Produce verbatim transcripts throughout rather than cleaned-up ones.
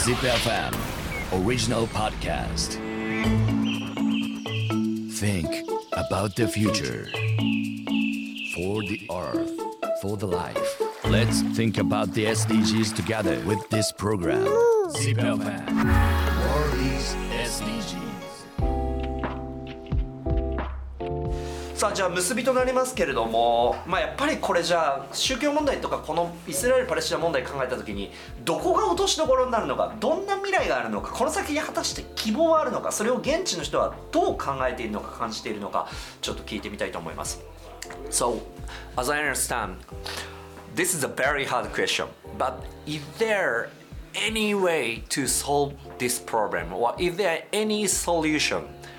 Zip エフエム Original Podcast. Think about the future. For the earth, for the life. Let's think about the エスディージーズ together with this program. Zip エフエム World is エスディージーズ。 さあじゃあ結びとなりますけれども、まあ、やっぱりこれじゃあ宗教問題とかこのイスラエル・パレスチナ問題考えた時にどこが落としどころになるのか、どんな未来があるのか、この先果たして希望はあるのか、それを現地の人はどう考えているのか感じているのか、ちょっと聞いてみたいと思います。 So, as I understand, this is a very hard question, but is there any way to solve this problem, or is there any solution?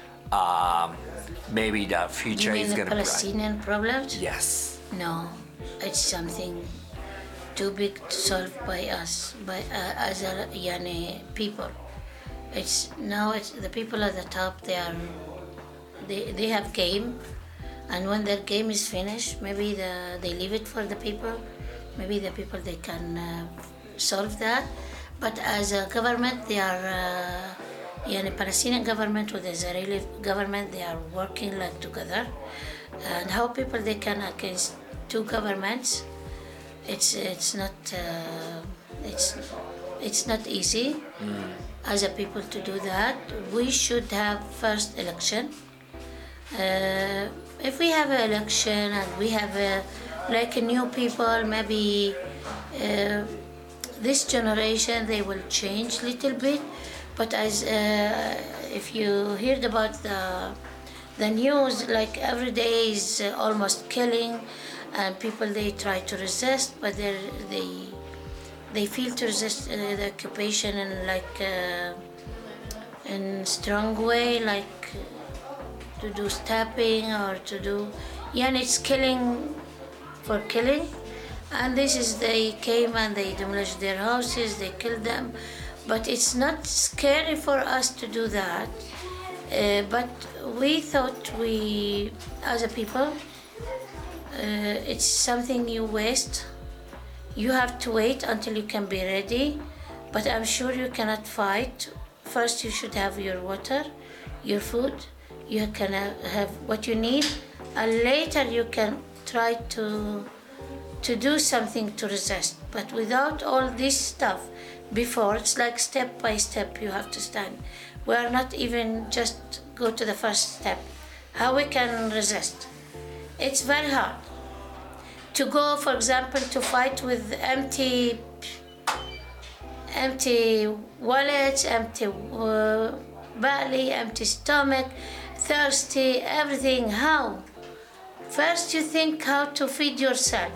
Um,Maybe the future you mean is going the to be Palestinian problems? Yes. No, it's something too big to solve by us, by uh, as a yani, people. It's now it's the people at the top. They are they they have game, and when their game is finished, maybe the they leave it for the people. Maybe the people they can uh, solve that. But as a government, they are. Uh, Yeah, the Palestinian government with the Israeli government, they are working like together. And how people they can against two governments, it's it's not uh, it's it's not easy mm. as a people to do that. We should have first election. Uh, if we have an election and we have a, like a new people, maybe uh, this generation they will change a little bit. But as uh, if you heard about the the news, like every day is uh, almost killing, and people they try to resist, but they they they feel to resist uh, the occupation in like uh, in strong way, like to do stabbing or to do, yeah, and it's killing for killing, and this is they came and they demolished their houses, they killed them. But it's not scary for us to do that. Uh, but we thought we, as a people, uh, it's something you waste. You have to wait until you can be ready. But I'm sure you cannot fight. First, you should have your water, your food. You can have what you need, and later you can try to to do something to resist. But without all this stuff. Before, it's like step by step you have to stand. We are not even just go to the first step. How we can resist? It's very hard. To go, for example, to fight with empty, empty wallets, empty uh, belly, empty stomach, thirsty, everything. How? First you think how to feed yourself.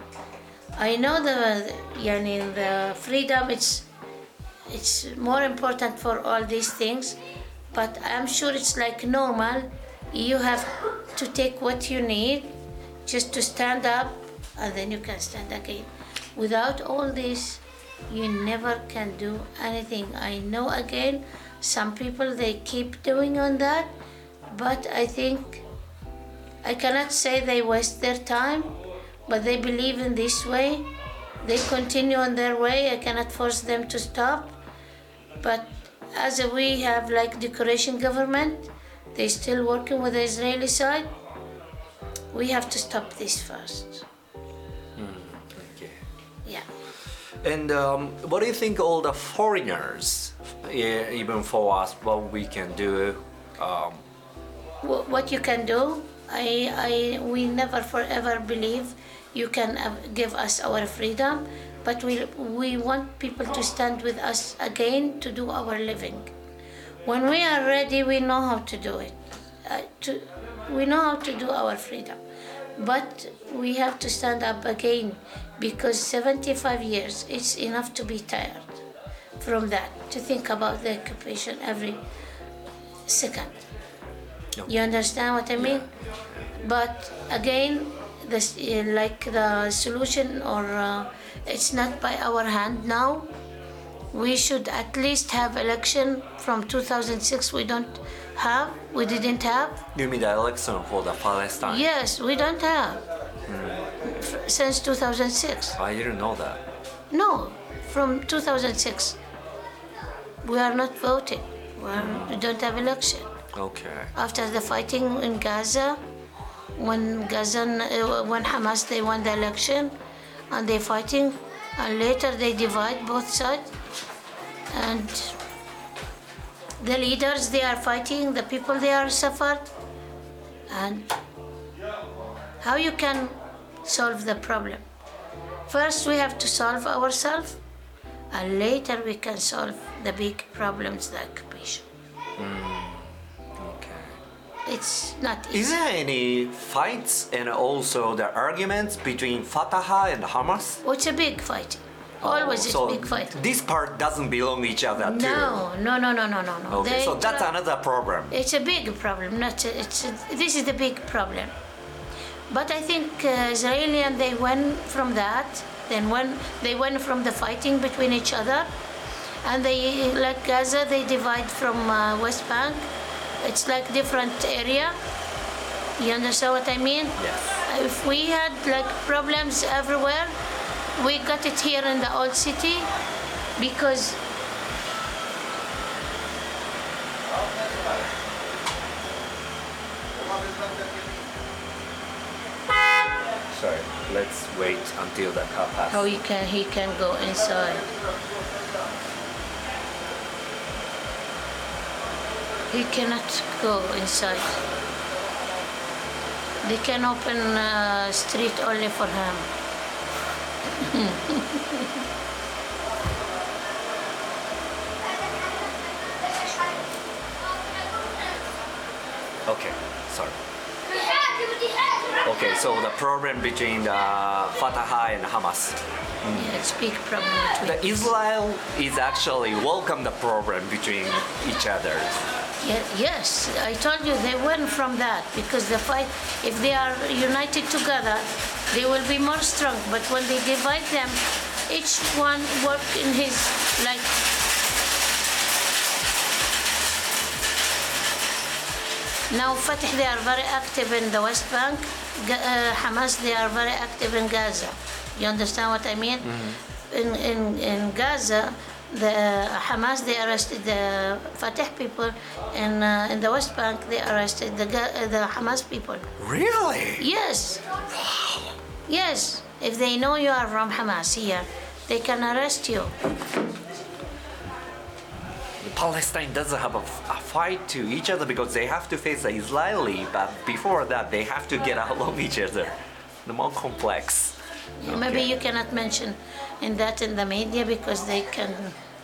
I know the, yani, the freedom, it's it's more important for all these things, but I'm sure it's like normal. You have to take what you need just to stand up, and then you can stand again. Without all this, you never can do anything. I know again, some people they keep doing on that, but I think I cannot say they waste their time. But they believe in this way. They continue on their way. I cannot force them to stop. But as we have like decoration government, they still working with the Israeli side. We have to stop this first. Mm, okay. Yeah. And um, what do you think all the foreigners, yeah, even for us, what we can do? Um, what you can do? I, I, we never forever believe you can give us our freedom, but we, we want people to stand with us again to do our living. When we are ready, we know how to do it. Uh, to, we know how to do our freedom. But we have to stand up again, because seventy-five years, it's enough to be tired from that, to think about the occupation every second. Yep. You understand what I mean? But again, this, uh, like the solution, or uh, it's not by our hand now. We should at least have election from two thousand six. We don't have, we didn't have. You mean the election for the Palestine? Yes, we don't have mm. since two thousand six. I didn't know that. No, from two thousand six. we are not voting. We, are, we don't have election. Okay. After the fighting in Gaza, when Gaza, uh, when Hamas they won the election, and they fighting, and later they divide both sides, and the leaders they are fighting, the people they are suffered, and how you can solve the problem? First we have to solve ourselves, and later we can solve the big problems, the occupation. It's not easy. Is there any fights and also the arguments between Fatah and Hamas? Oh, it's a big fight. Always so it's big fight. This part doesn't belong to each other too. No, no, no, no, no, no, no. Okay, They so that's try- another problem. It's a big problem. Not a, it's a, this is the big problem. But I think uh, Israeli and they went from that. Then when they went from the fighting between each other, and they like Gaza, they divide from uh, West Bank. It's like different area. You understand what I mean? Yes. If we had like problems everywhere, we got it here in the old city because Sorry, let's wait until the car passes. how he can he can go inside. He cannot go inside. They can open uh, street only for him. Okay, sorry. Okay, so the problem between the Fatah and Hamas. Yeah, it's big problem between. The Israel is actually welcome the problem between each other. Yeah, yes, I told you they went from that because the fight, if they are united together, they will be more strong. But when they divide them, each one work in his like. Now Fatah they are very active in the West Bank. Ga- uh, Hamas they are very active in Gaza. You understand what I mean? Mm-hmm. In in in Gaza, the Hamas they arrested the Fatah people, and uh, in the West Bank they arrested the Ga- uh, the Hamas people. Really? Yes. Yes. If they know you are from Hamas here, they can arrest you. Palestine doesn't have a, a fight to each other because they have to face the Israeli, but before that they have to get along each other. The more complex. Maybe Okay. you cannot mention in that in the media because they can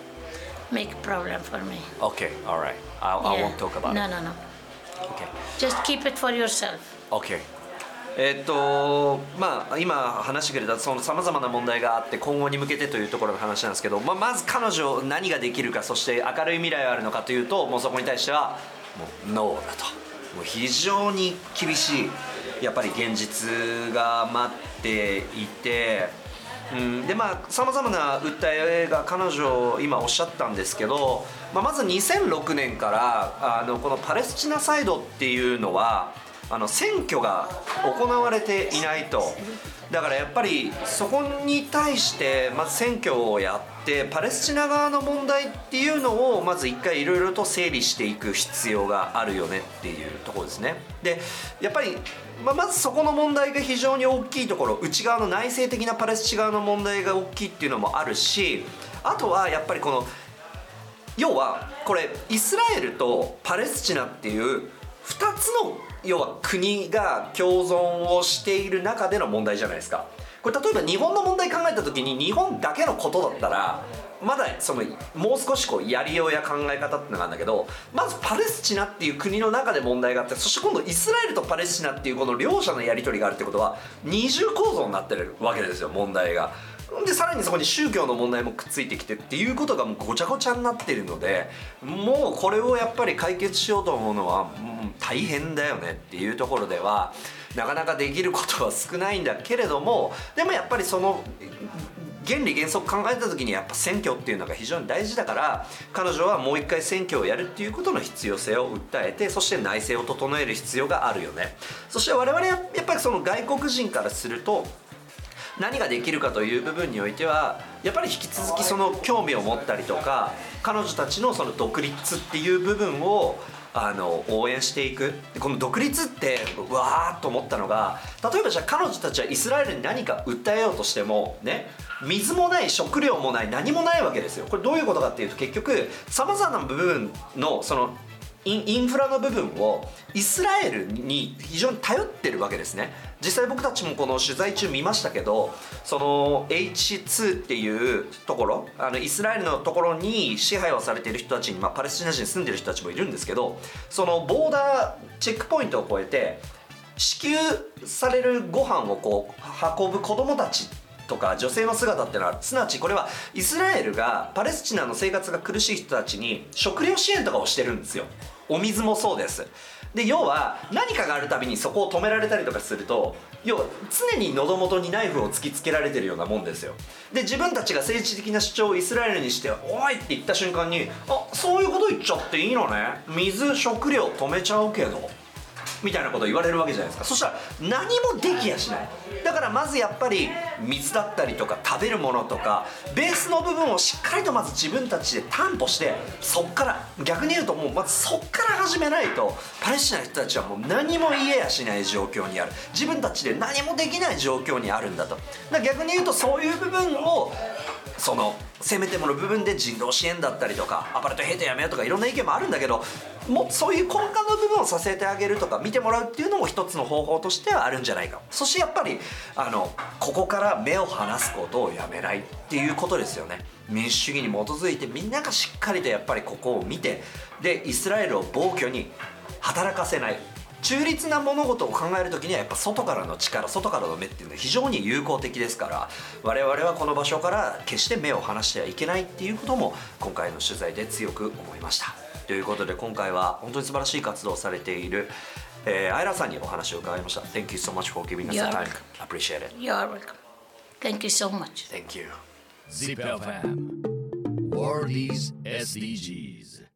make problem for me. Okay, all right. I, I Yeah. won't talk about No, it. no, no. Okay. Just keep it for yourself. Okay. えっとまあ、今話してくれたそのさまざまな問題があって今後に向けてというところの話なんですけど、まあ、まず彼女何ができるかそして明るい未来があるのかというともうそこに対してはもうノーだともう非常に厳しいやっぱり現実が待っていて、うん、でまあさまざまな訴えが彼女今おっしゃったんですけど、まあ、まずにせんろくねんからあのこのパレスチナサイドっていうのはあの選挙が行われていないとだからやっぱりそこに対してまず選挙をやってパレスチナ側の問題っていうのをまず一回いろいろと整理していく必要があるよねっていうところですねでやっぱり、まあ、まずそこの問題が非常に大きいところ内側の内政的なパレスチナ側の問題が大きいっていうのもあるしあとはやっぱりこの要はこれイスラエルとパレスチナっていうふたつの要は国が共存をしている中での問題じゃないですかこれ例えば日本の問題考えた時に日本だけのことだったらまだそのもう少しこうやりようや考え方っていうのがあるんだけどまずパレスチナっていう国の中で問題があってそして今度イスラエルとパレスチナっていうこの両者のやり取りがあるってことは二重構造になってるわけですよ問題が。でさらにそこに宗教の問題もくっついてきてっていうことがもうごちゃごちゃになってるのでもうこれをやっぱり解決しようと思うのは、うん、大変だよねっていうところではなかなかできることは少ないんだけれどもでもやっぱりその原理原則考えた時にやっぱ選挙っていうのが非常に大事だから彼女はもう一回選挙をやるっていうことの必要性を訴えてそして内政を整える必要があるよねそして我々はやっぱりその外国人からすると何ができるかという部分においてはやっぱり引き続きその興味を持ったりとか彼女たちのその独立っていう部分をあの応援していく。この独立ってうわーっと思ったのが、例えばじゃあ彼女たちはイスラエルに何か訴えようとしてもね、水もない食料もない何もないわけですよ。これどういうことかっていうと、結局さまざまな部分のそのイン、インフラの部分をイスラエルに非常に頼ってるわけですね。実際僕たちもこの取材中見ましたけど、その エイチツー っていうところ、あのイスラエルのところに支配をされている人たちに、まあ、パレスチナ人に住んでる人たちもいるんですけど、そのボーダーチェックポイントを越えて支給されるご飯をこう運ぶ子供たちとか女性の姿ってのは、すなわちこれはイスラエルがパレスチナの生活が苦しい人たちに食料支援とかをしてるんですよ。お水もそうです。で要は何かがあるたびにそこを止められたりとかすると、要は常に喉元にナイフを突きつけられてるようなもんですよ。で自分たちが政治的な主張をイスラエルにして「おい!」って言った瞬間に「あ、そういうこと言っちゃっていいのね、水食料止めちゃうけど」みたいなことを言われるわけじゃないですか。そしたら何もできやしない。だからまずやっぱり水だったりとか食べるものとかベースの部分をしっかりとまず自分たちで担保して、そっから逆に言うともうまずそっから始めないとパレスチナの人たちはもう何も言えやしない状況にある。自分たちで何もできない状況にあるんだと。だから逆に言うとそういう部分をそのせめてもの部分で人道支援だったりとかアパルトヘイトやめようとかいろんな意見もあるんだけど、もうそういう根幹の部分を支えてあげるとか見てもらうっていうのも一つの方法としてはあるんじゃないか。そしてやっぱりあのここから目を離すことをやめないっていうことですよね。民主主義に基づいてみんながしっかりとやっぱりここを見て、でイスラエルを暴挙に働かせない。中立な物事を考えるときにはやっぱ外からの力、外からの目っていうのは非常に有効的ですから、我々はこの場所から決して目を離してはいけないっていうことも今回の取材で強く思いました。ということで今回は本当に素晴らしい活動をされている、えー、アイラさんにお話を伺いました。 Thank you so much for giving us the time. Appreciate it. You're welcome. Thank you so much. Thank you. Zip エフエム World is エスディージーズ